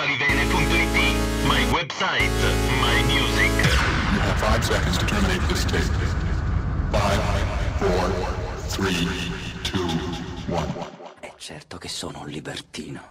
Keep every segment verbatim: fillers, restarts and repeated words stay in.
falivene punto it, my website, my music. You have five seconds to terminate this tape. Five, four, three, two, one. È certo che sono un libertino.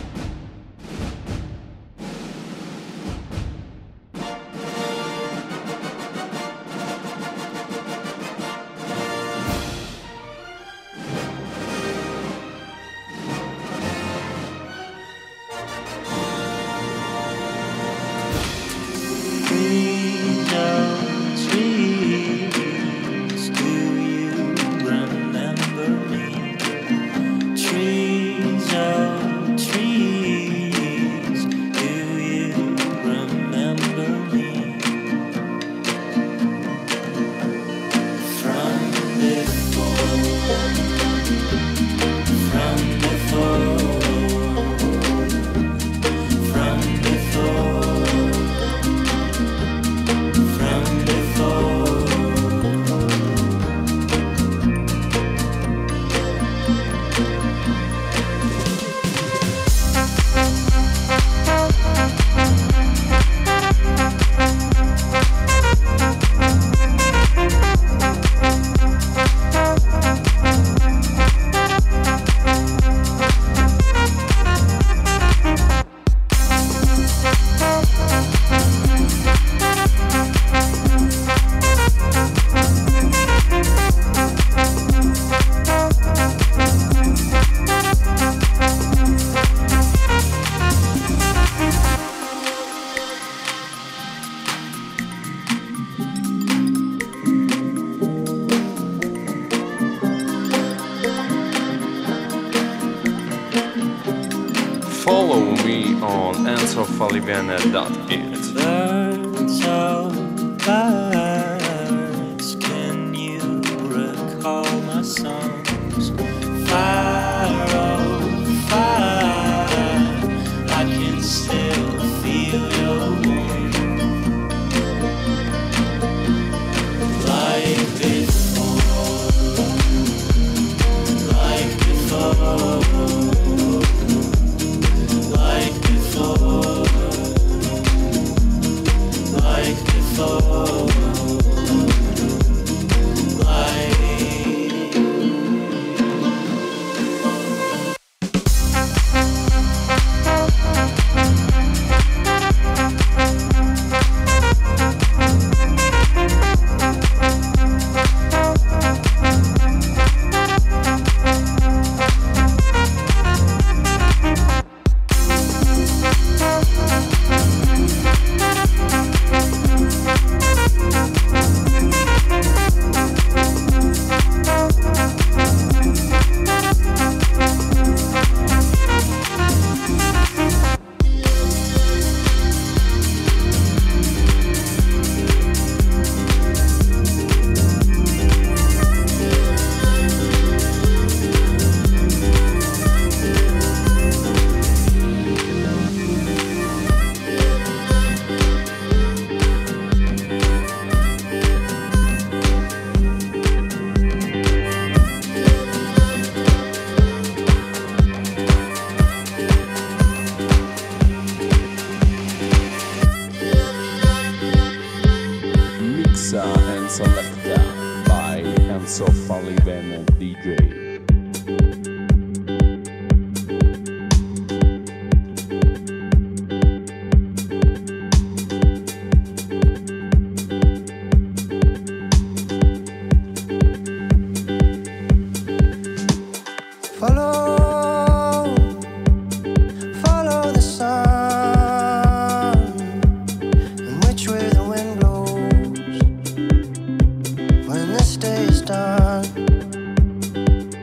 Follow me on enzo falivene dot it. Birds of birds, can you recall my songs? Fire, oh fire, I can still feel your warmth. Like before, like before. Like before, like before, like and selected by Enzo Falivene D J. When this day is done,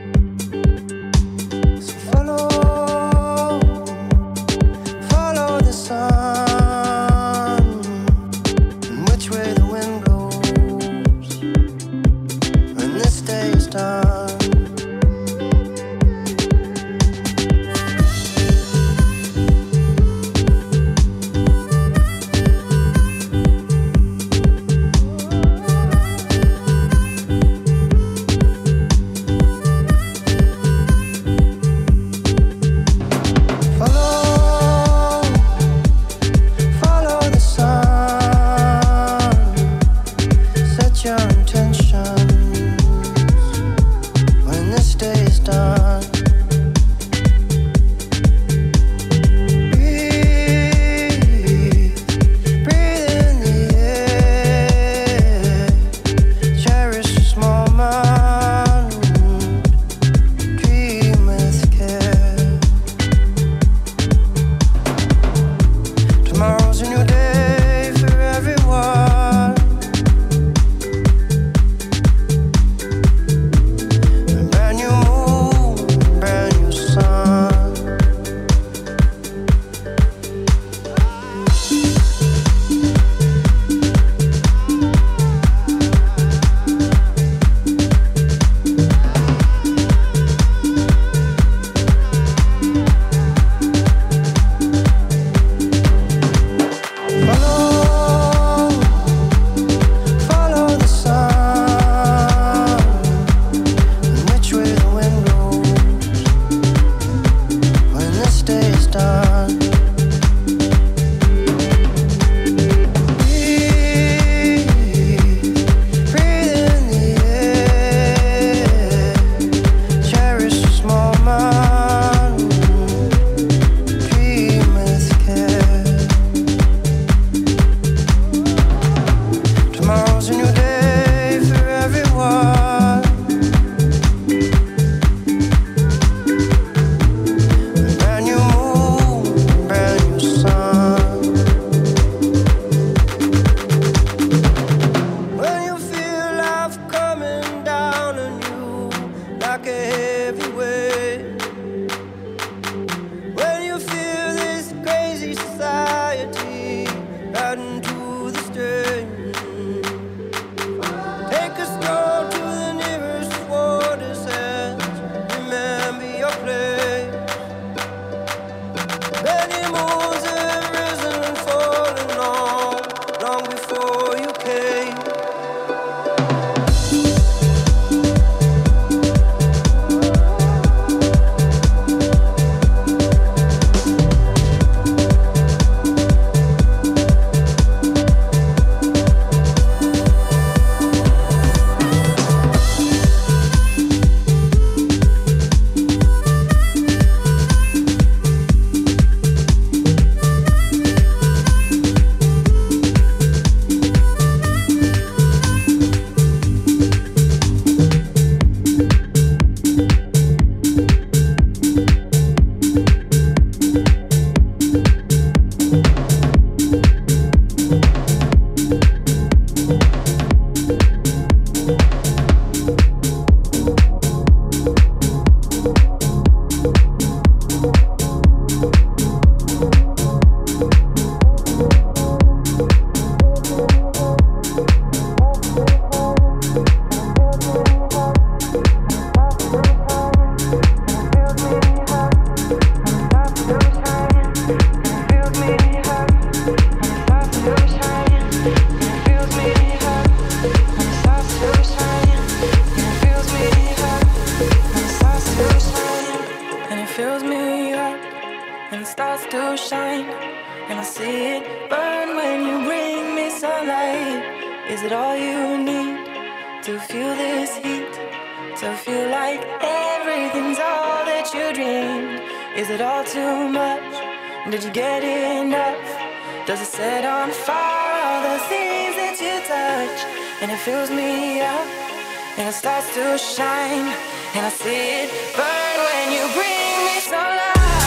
Is it all you need to feel this heat? To feel like everything's all that you dreamed? Is it all too much? Did you get enough? Does it set on fire all the things that you touch? And it fills me up, and it starts to shine, and I see it burn when you bring me sunlight.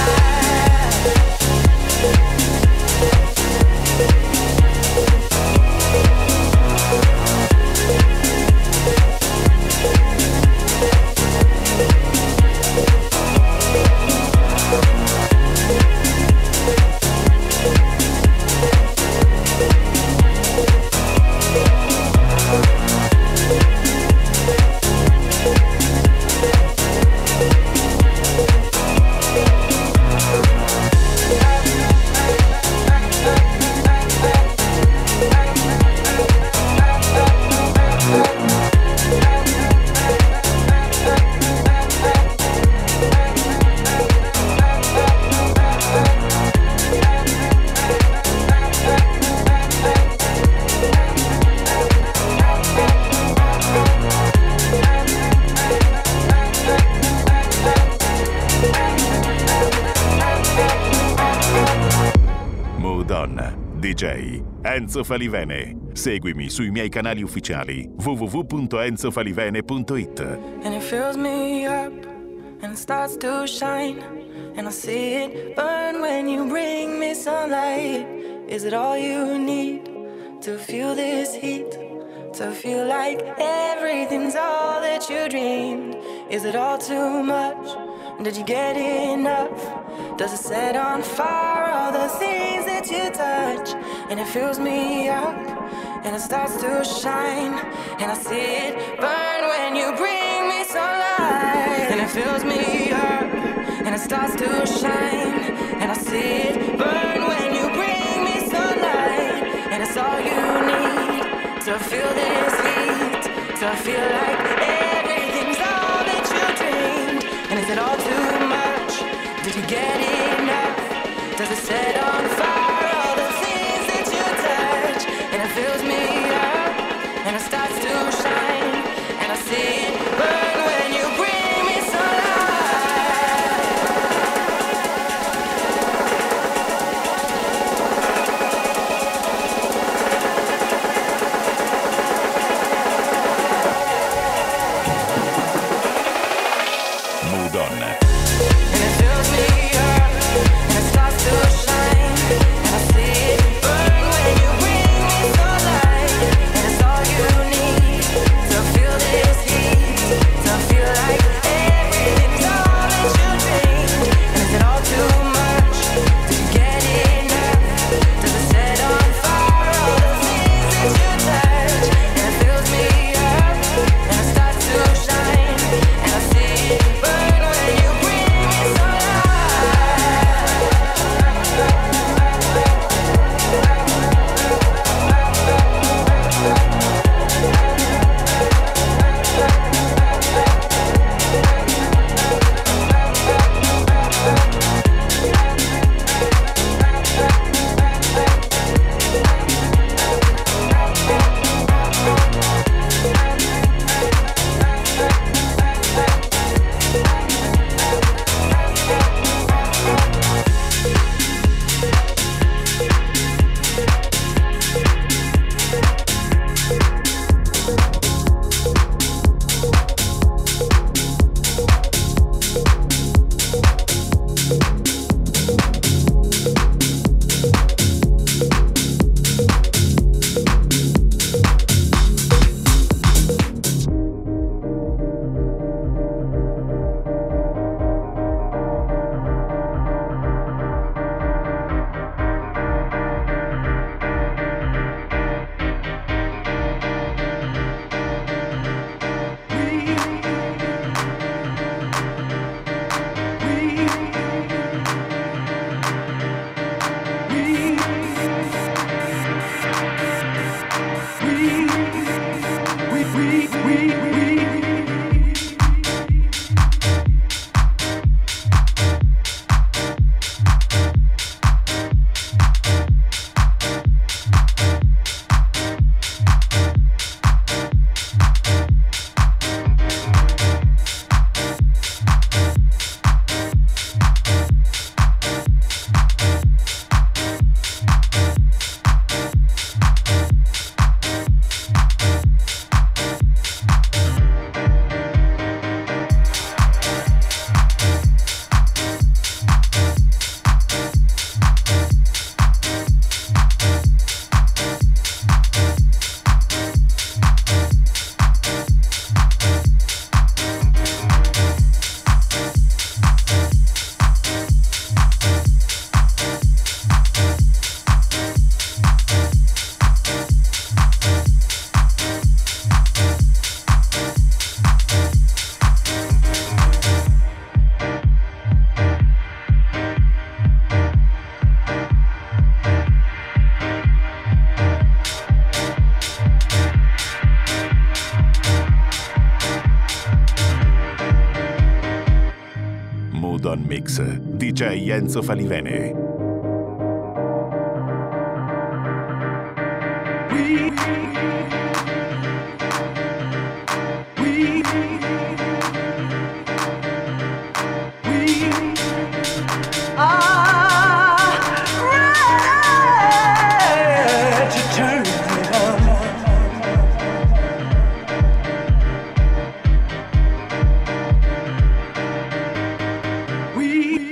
D J Enzo Falivene. Seguimi sui miei canali ufficiali w w w punto enzo falivene punto it. And it fills me up, and it starts to shine, and I see it burn when you bring me sunlight. Is it all you need to feel this heat? To feel like everything's all that you dreamed? Is it all too much? Did you get enough? Does it set on fire all the things that you touch? And it fills me up, and it starts to shine, and I see it burn when you bring me sunlight. And it fills me up, and it starts to shine, and I see it burn when you bring me sunlight. And it's all you need to feel this heat, to feel like everything's all that you dreamed. And is it all too much? Did you get enough? Does it set on fire all the things that you touch? And it fills me up, and it starts to shine, and I see it burn when you bring me Mood On. and it fills me up, and it starts to shine. on Mix, D J Enzo Falivene. We, we, we are ready to turn it on. We,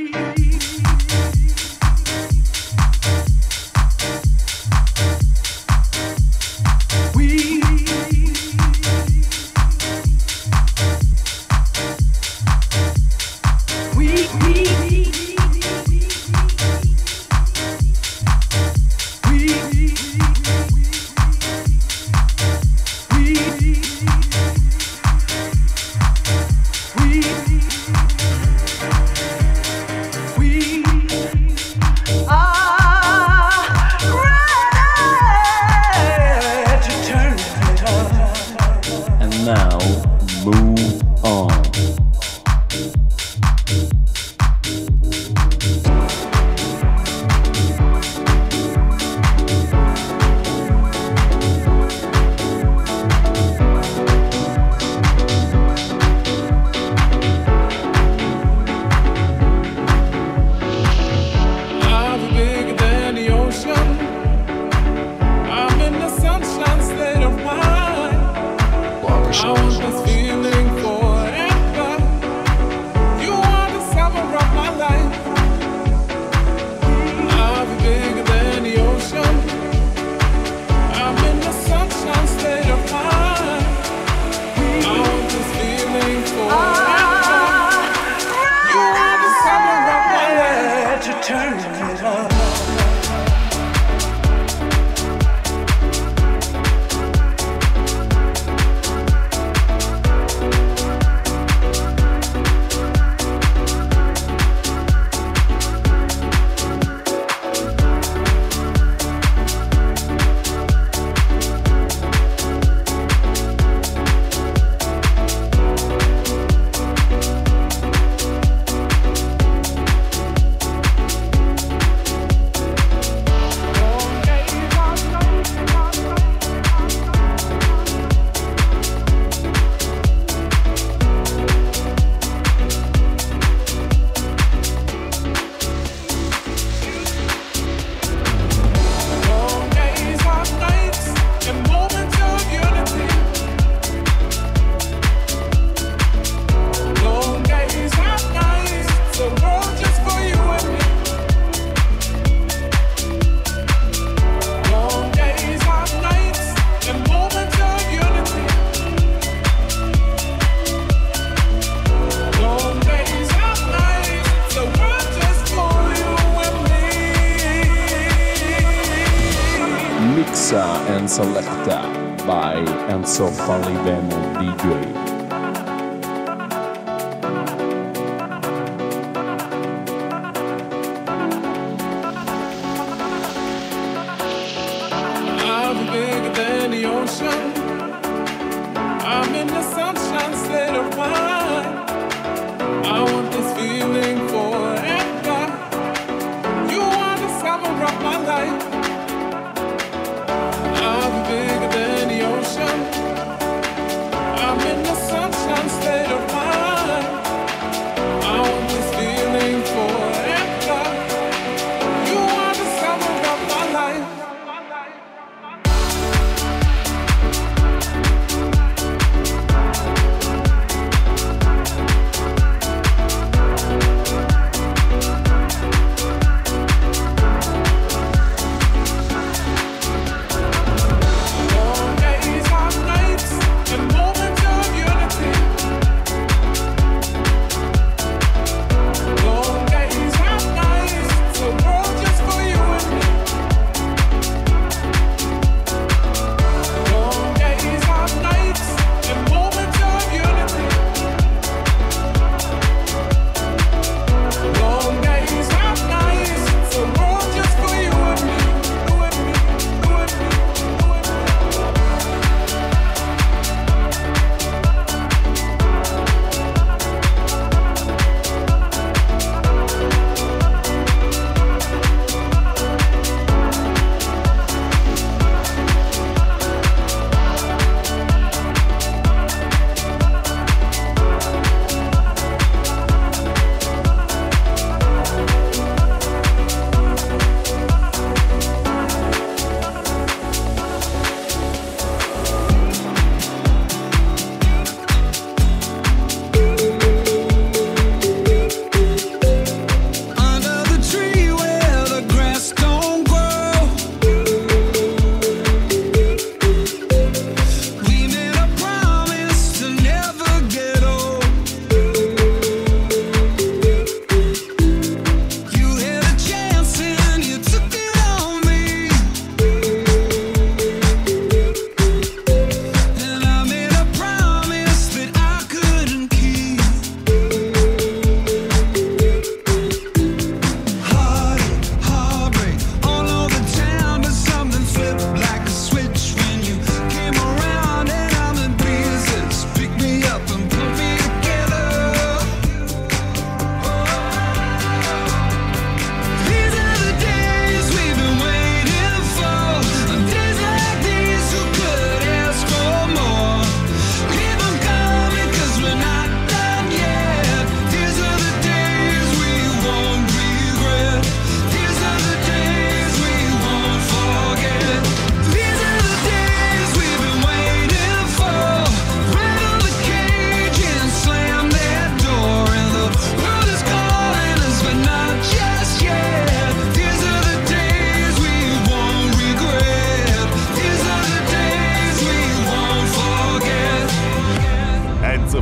Now, move on. I'm bigger than the ocean. I'm in the sunshine state of mind. I want this feeling forever. You are the summer of my life. I'll be bigger than the ocean. I'm in the sunshine state of mind. I want this feeling forever. You are the summer of my life. To turn it on. Mixa and Selecta by Enzo Falivene D J. I'm bigger than the ocean. I'm in the sunshine state of mind. I want this feeling forever. You are the summer of my life. I'm bigger than the ocean. I'm in the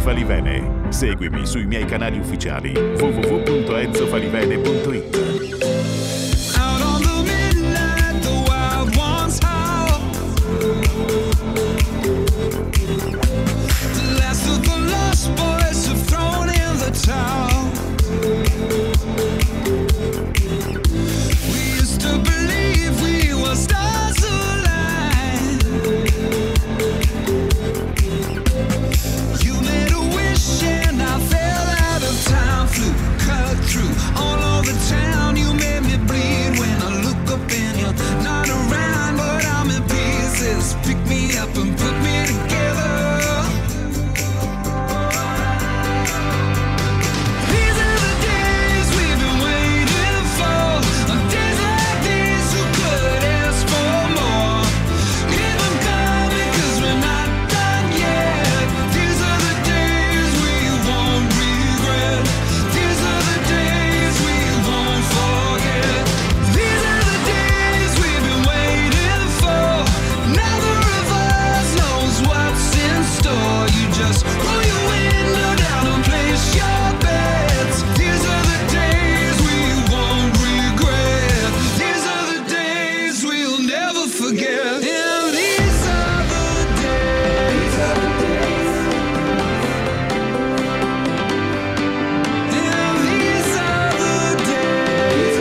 Falivene. Seguimi sui miei canali ufficiali w w w punto enzo falivene punto it. Out on the midnight, the wild ones howl. The last of the lost boys have thrown in the towel. We used to believe we were stars aligned. You made a wish and I fell out of time. Flew, cut through all over town. You made me bleed when I look up and you're not around, but I'm in pieces. Pick me up and put me together. These are the days we've been waiting for. On days like these, who could ask for more? Keep them coming, 'cause we're not done yet. These are the days we won't regret. These are the days we won't forget. These are the days we've been waiting for. Neither of us knows what's in store. You just roll your window down and place your bets. These are the days we won't regret. These are the days we'll never forget. And these are the days. And these are the days.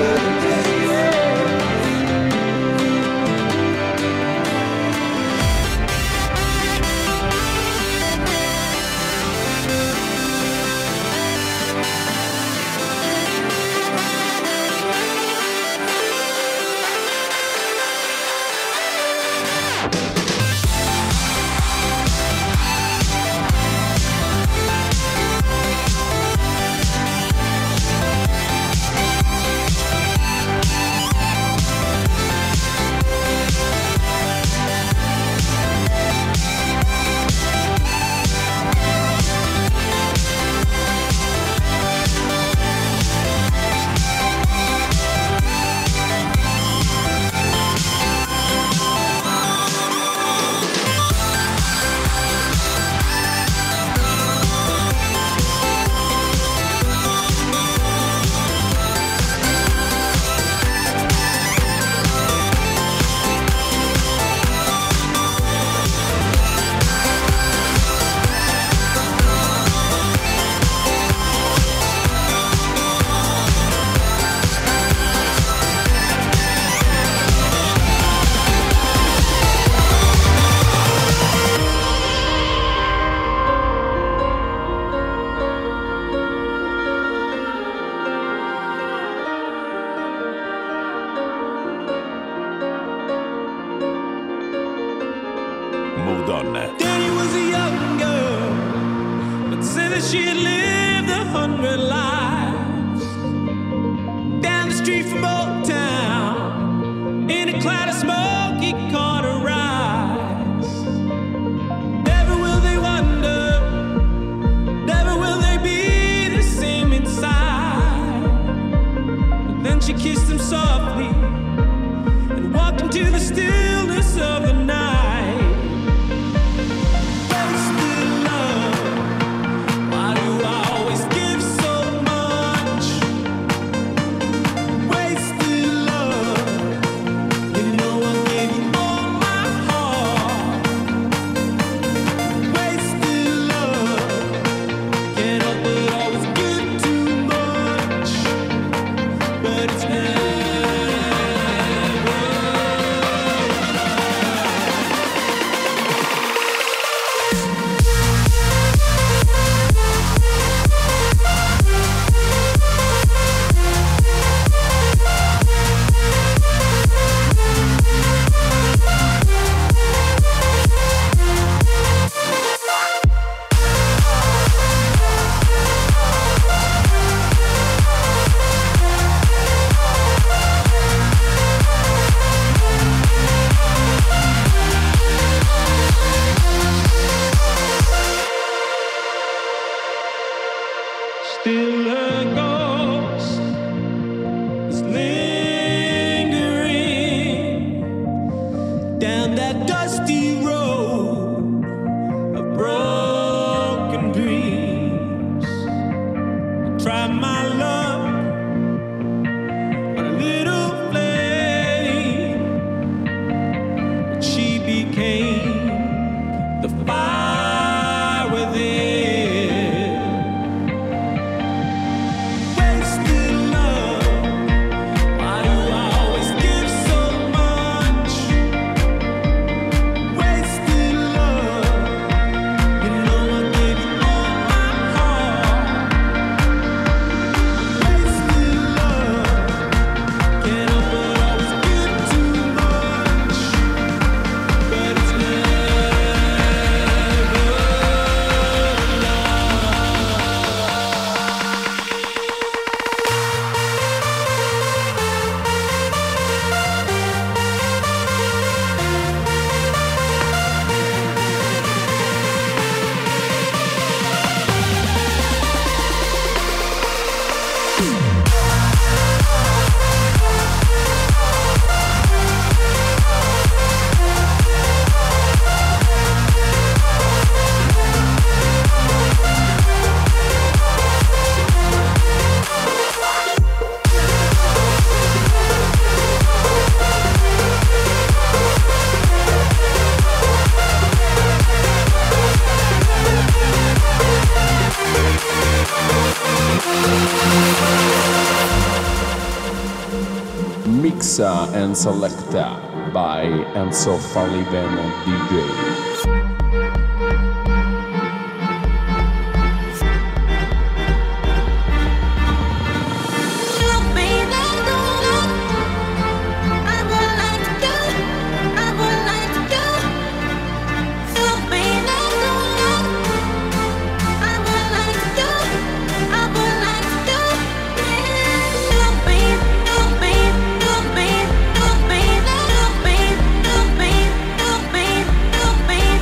Madonna. Danny was a young girl, but said that she had lived a hundred lives. Down the street from Old Town, in a cloud of smoke, he caught her eyes. Never will they wonder, never will they be the same inside. But then she kissed him softly and walked into the stillness of the night. Wasted love, why do I always give so much? Mixa and Selecta by Enzo Falivene D J. Baby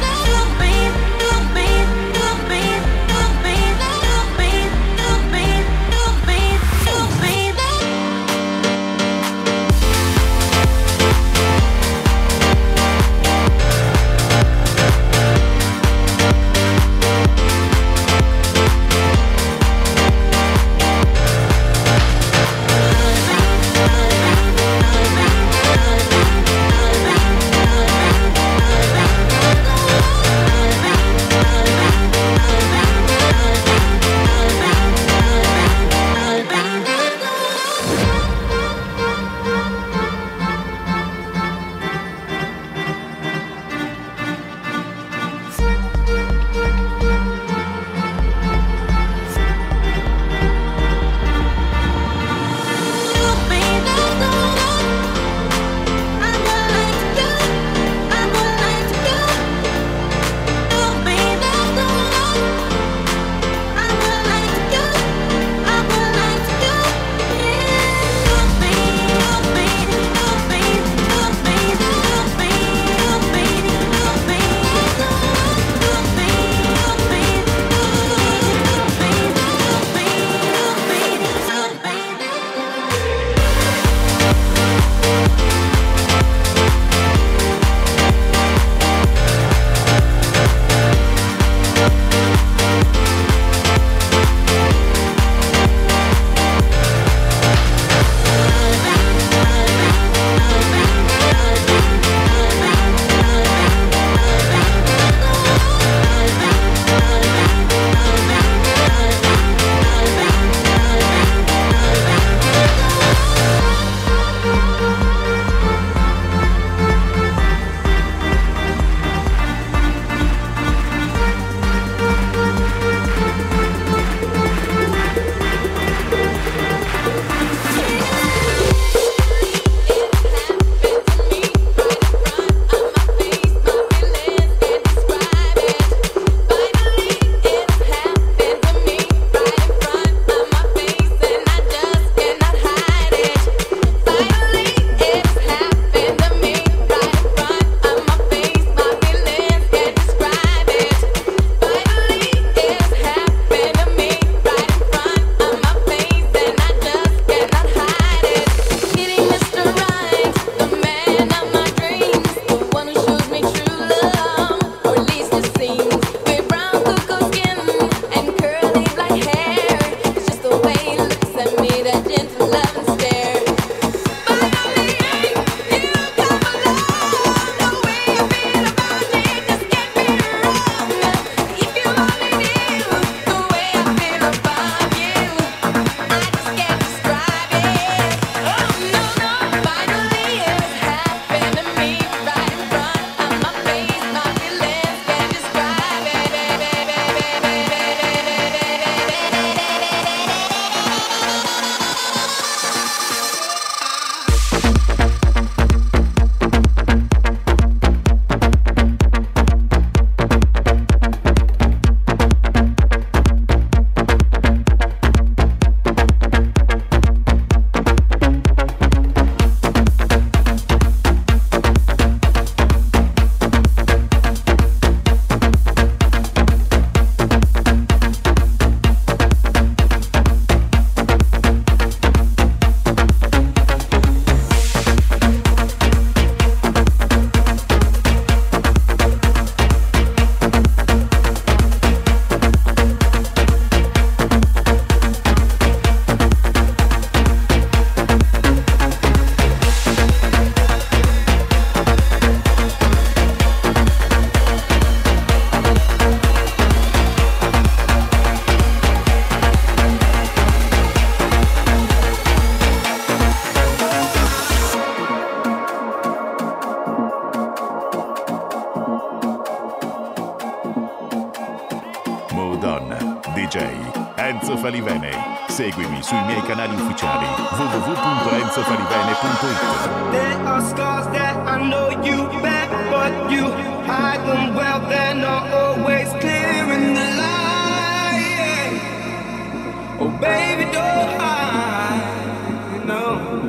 Mood On, D J Enzo Falivene. Seguimi sui miei canali ufficiali w w w punto enzo falivene punto it. There are scars that I know you back, but you hide them well. They're not always clear in the light. Oh baby, don't hide, no.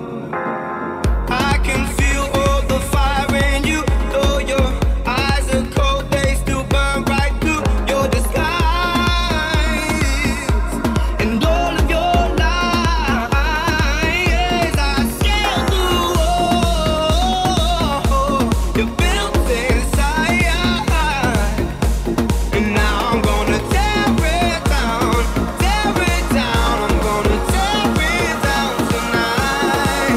I can feel all the fire in you, though your eyes are cold, they still burn right through your disguise. And all of your lies, I scaled through. Oh, you're built inside. And now I'm gonna tear it down, tear it down. I'm gonna tear it down tonight.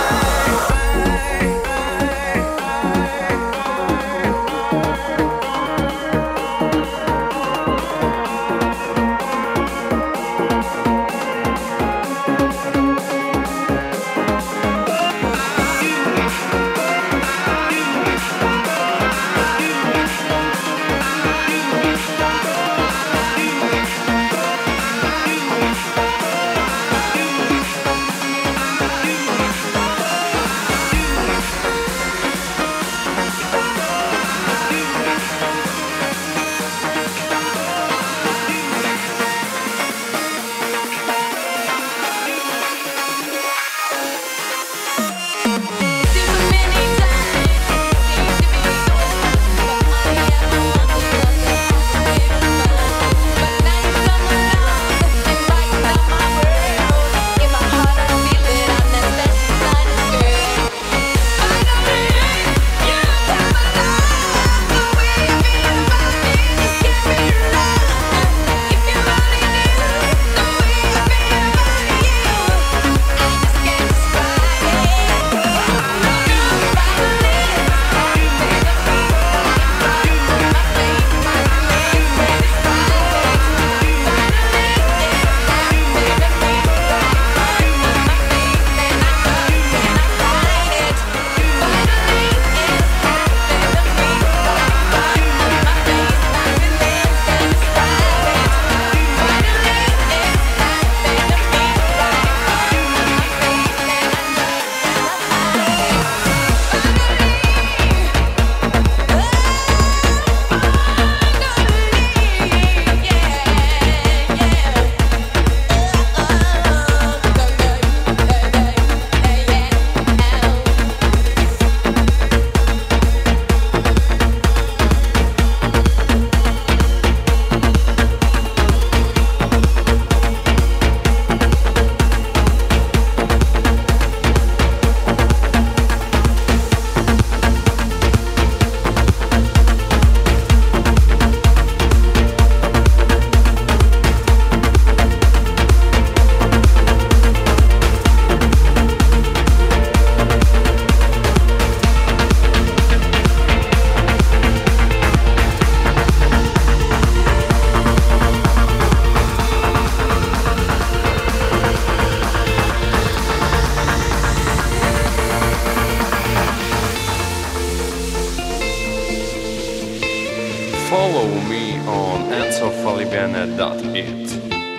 Follow me on enzo falivene dot it.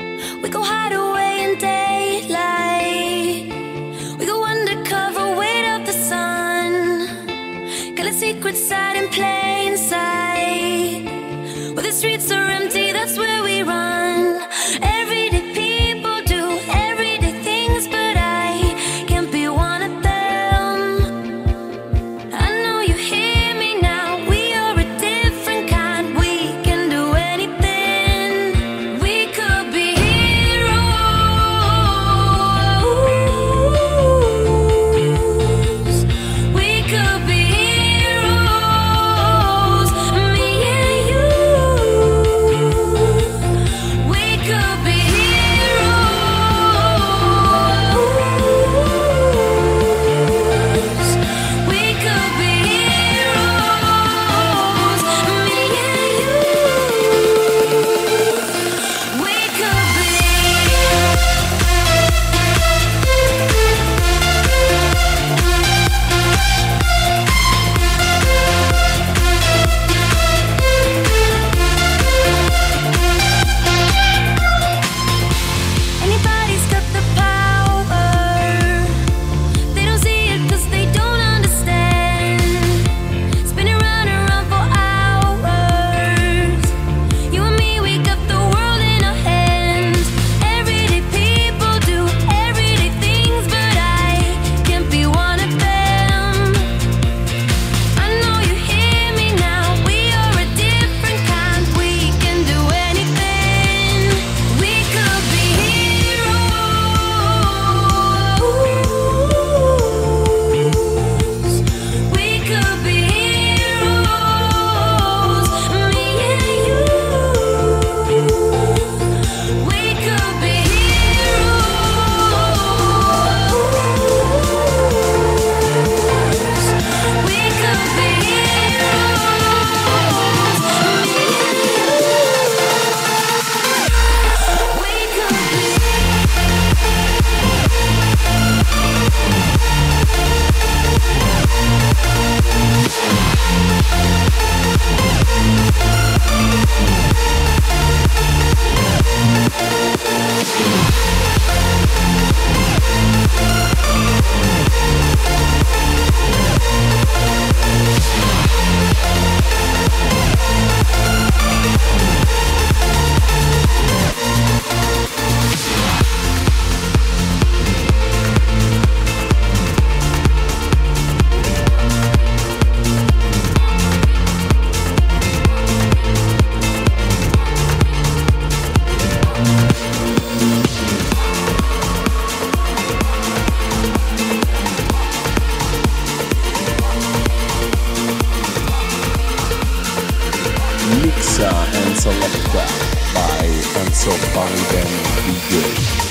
We go hide away in daylight. We go undercover, wait up the sun. Got a secret side in plain sight. Where the streets are empty, that's where we run. Everyday people do everyday things, but I can't be one of them. I know you hear me now. We are a different kind. We can do anything. We could be heroes. We could be heroes. Me and you. mix uh, and selecta by Enzo Faliben D J.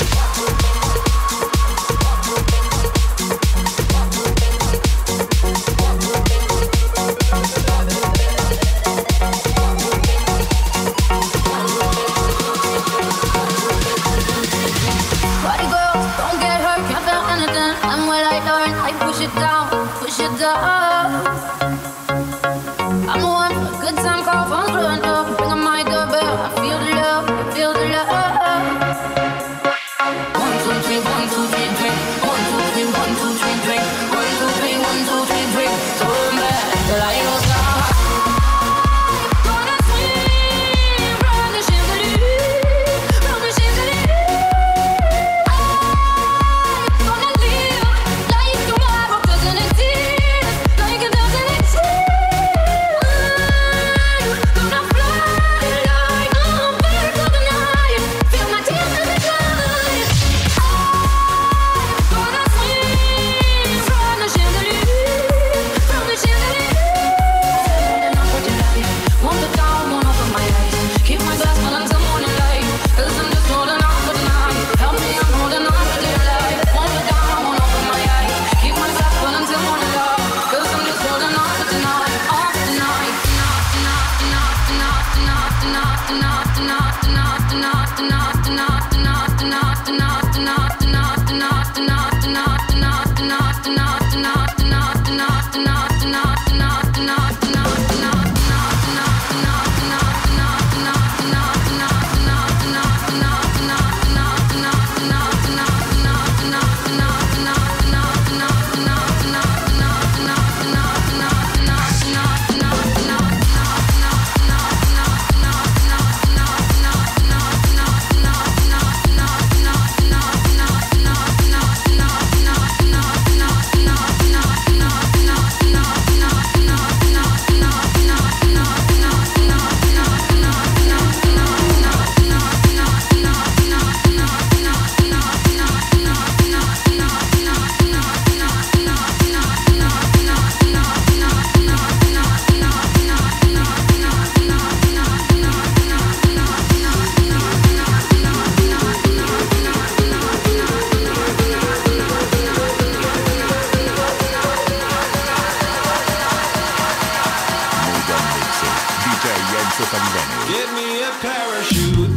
Give me a parachute.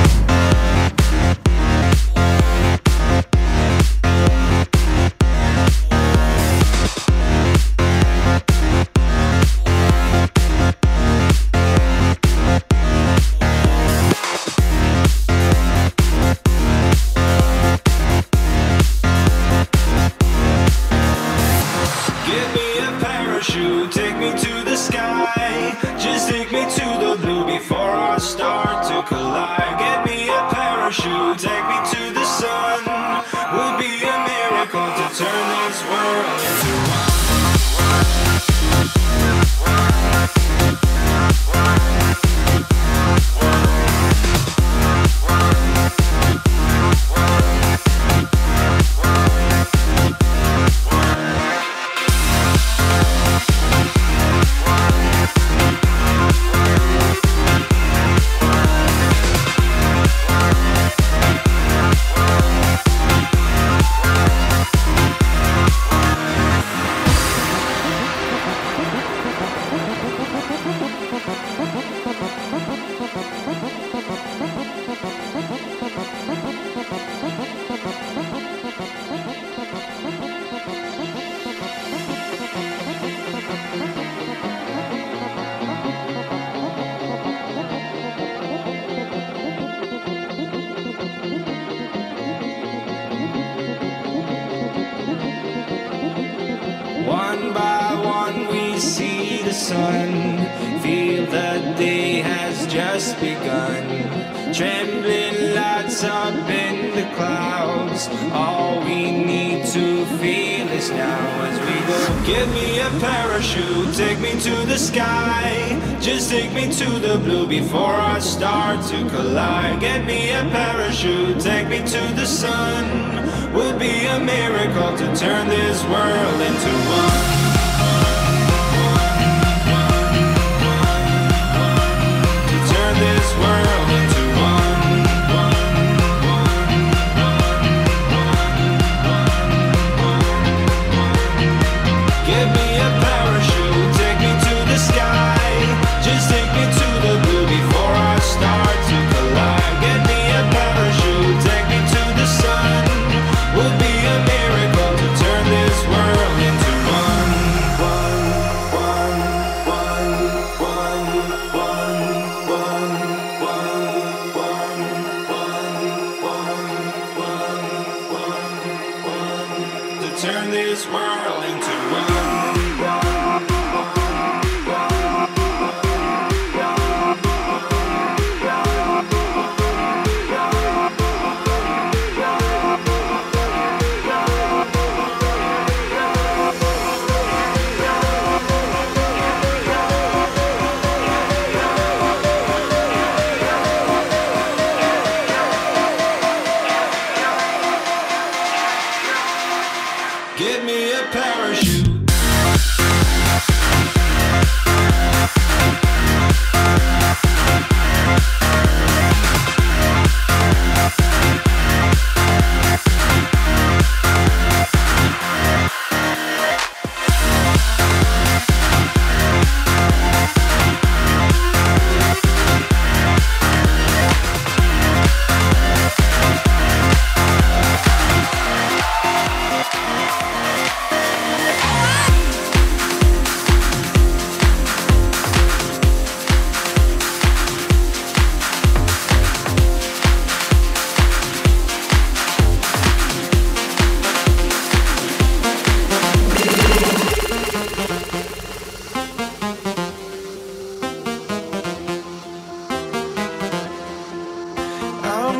Give me a parachute, take me to the sky. Just take me to the blue before I start to collide. Get me a parachute, take me to the sun. Would be a miracle to turn this world into one. One by one we see the sun, feel the day has just begun. Trembling lights up in the clouds, all we need to feel is now as we go. Give me a parachute, take me to the sky. Just take me to the blue before I start to collide. Get me a parachute, take me to the sun. Would be a miracle to turn this world into one.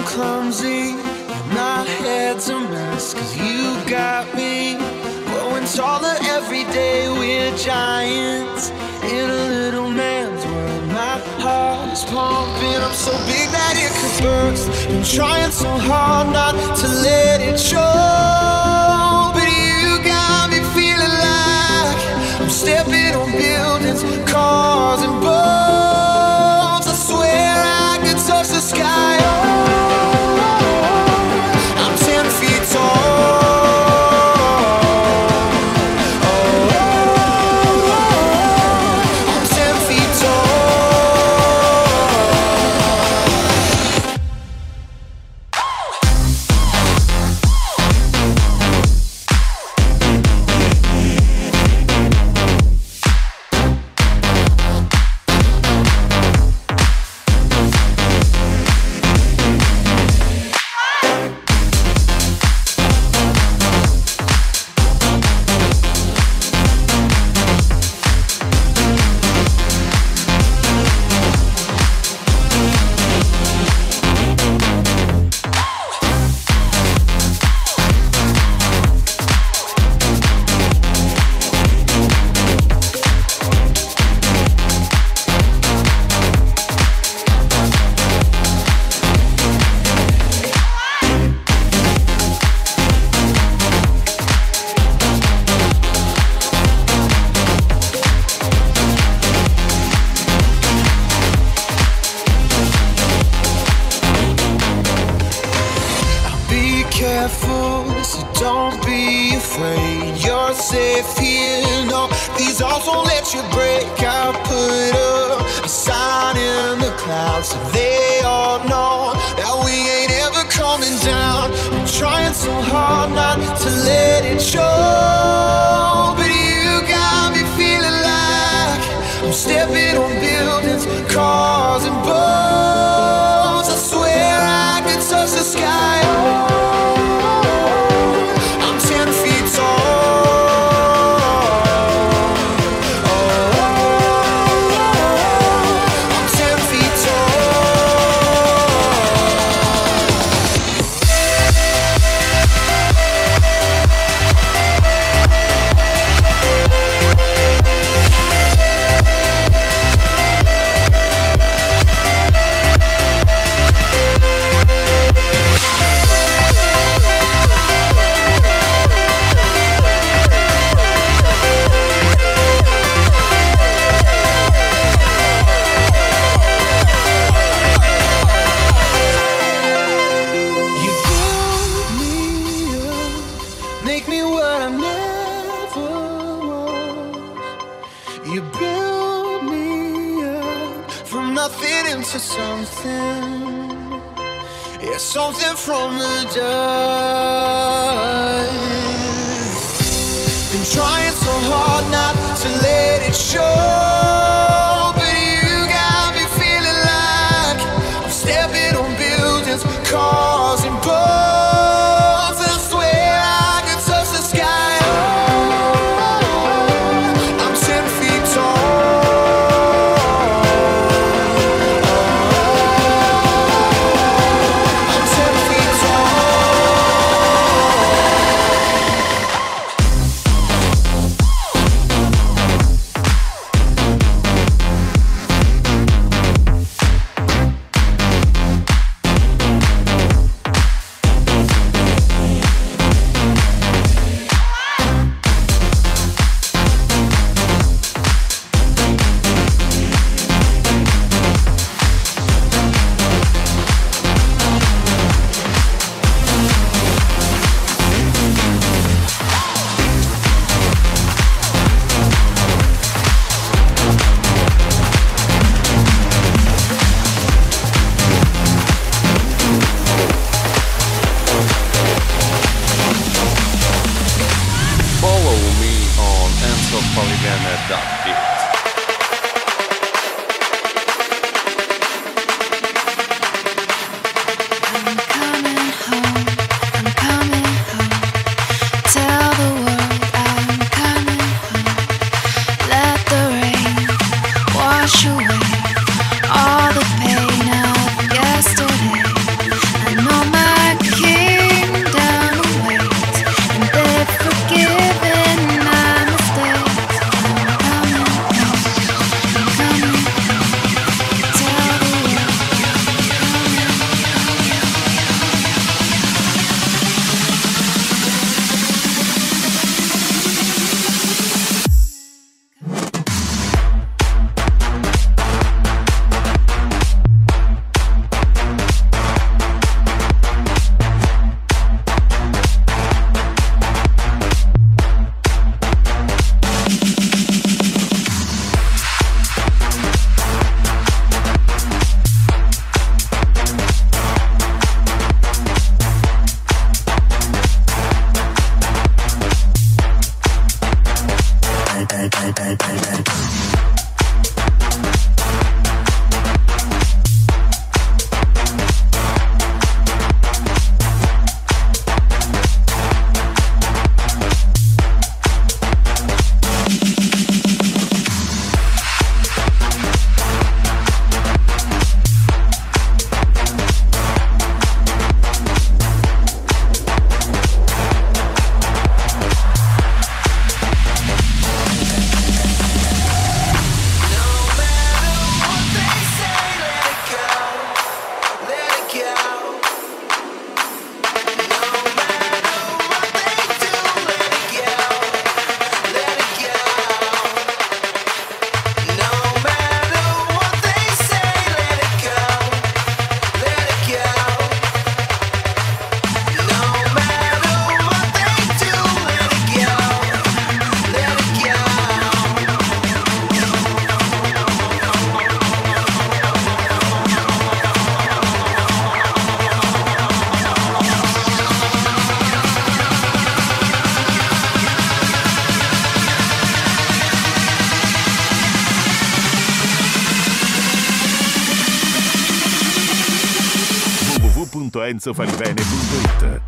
clumsy, my head's a mess, cause you got me growing taller every day. We're giants in a little man's world. My heart is pumping up so big that it could burst. Been trying so hard not to let it show, but you got me feeling like I'm stepping on buildings, cars and boats. I swear I could touch the sky. Oh, I'm ten feet tall. punto enzo falivene punto it.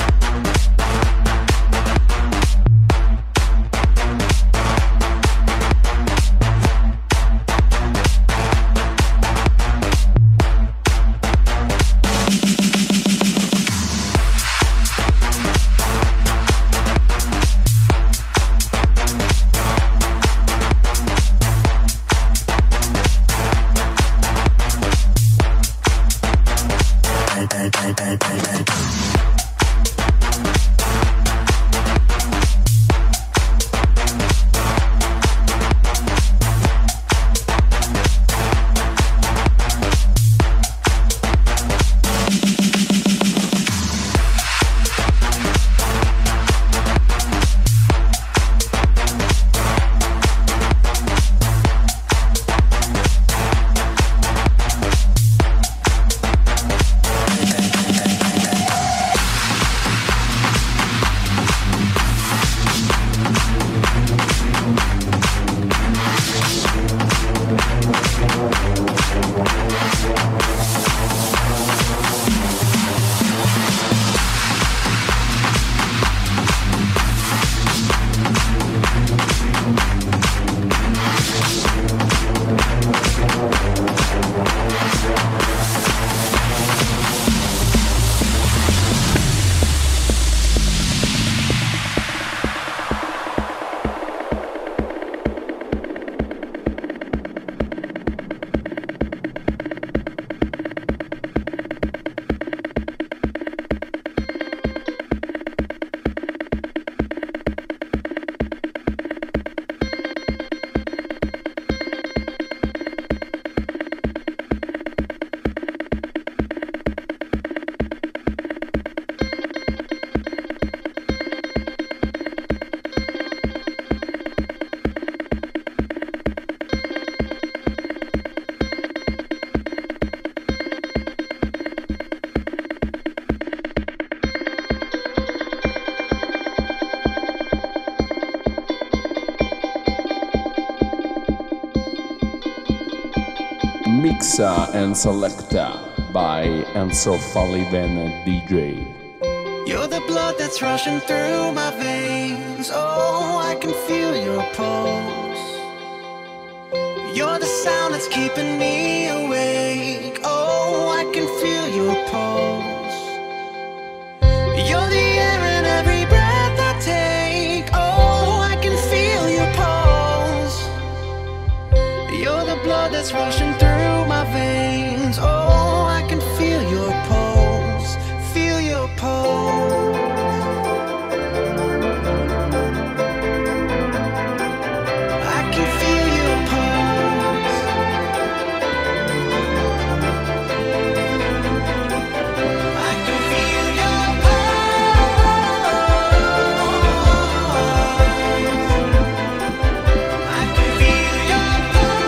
Mixa and Selecta by Enzo Falivene D J. You're the blood that's rushing through my veins. Oh, I can feel your pulse. You're the sound that's keeping me awake. Oh, I can feel your pulse. You're the air in every breath I take. Oh, I can feel your pulse. You're the blood that's rushing through my veins. Oh, I can feel your pulse. Feel your pulse. I can feel your pulse. I can feel your pulse. I can feel your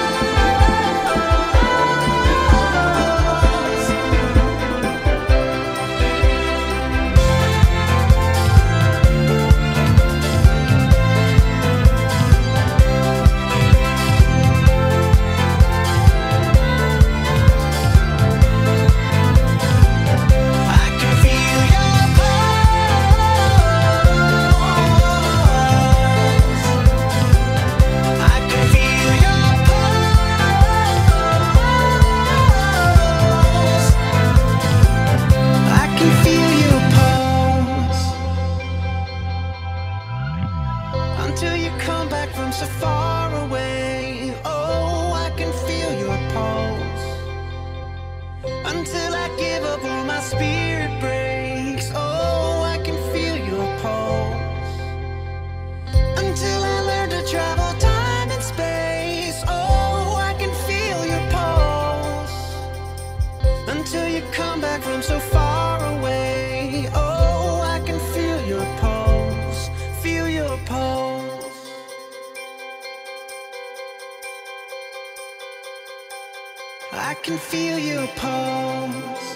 until you come back from so far away. Oh, I can feel your pulse. Until I give up or my spirit breaks. Oh, I can feel your pulse. Until I learn to travel time and space. Oh, I can feel your pulse. Until you come back from so far away. Oh, I can feel your pulse. Feel your pulse. I can feel your pulse.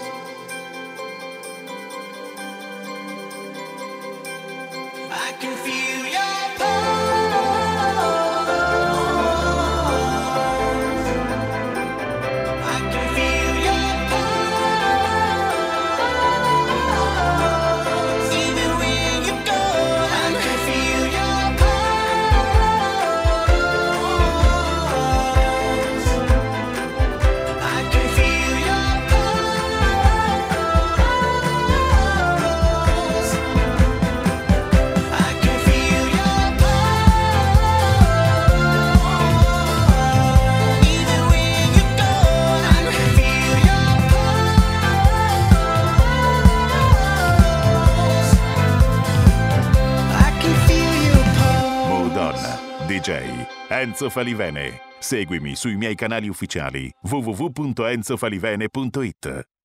I can feel your pulse. I can feel your pulse. J Enzo Falivene. Seguimi sui miei canali ufficiali w w w punto enzo falivene punto it.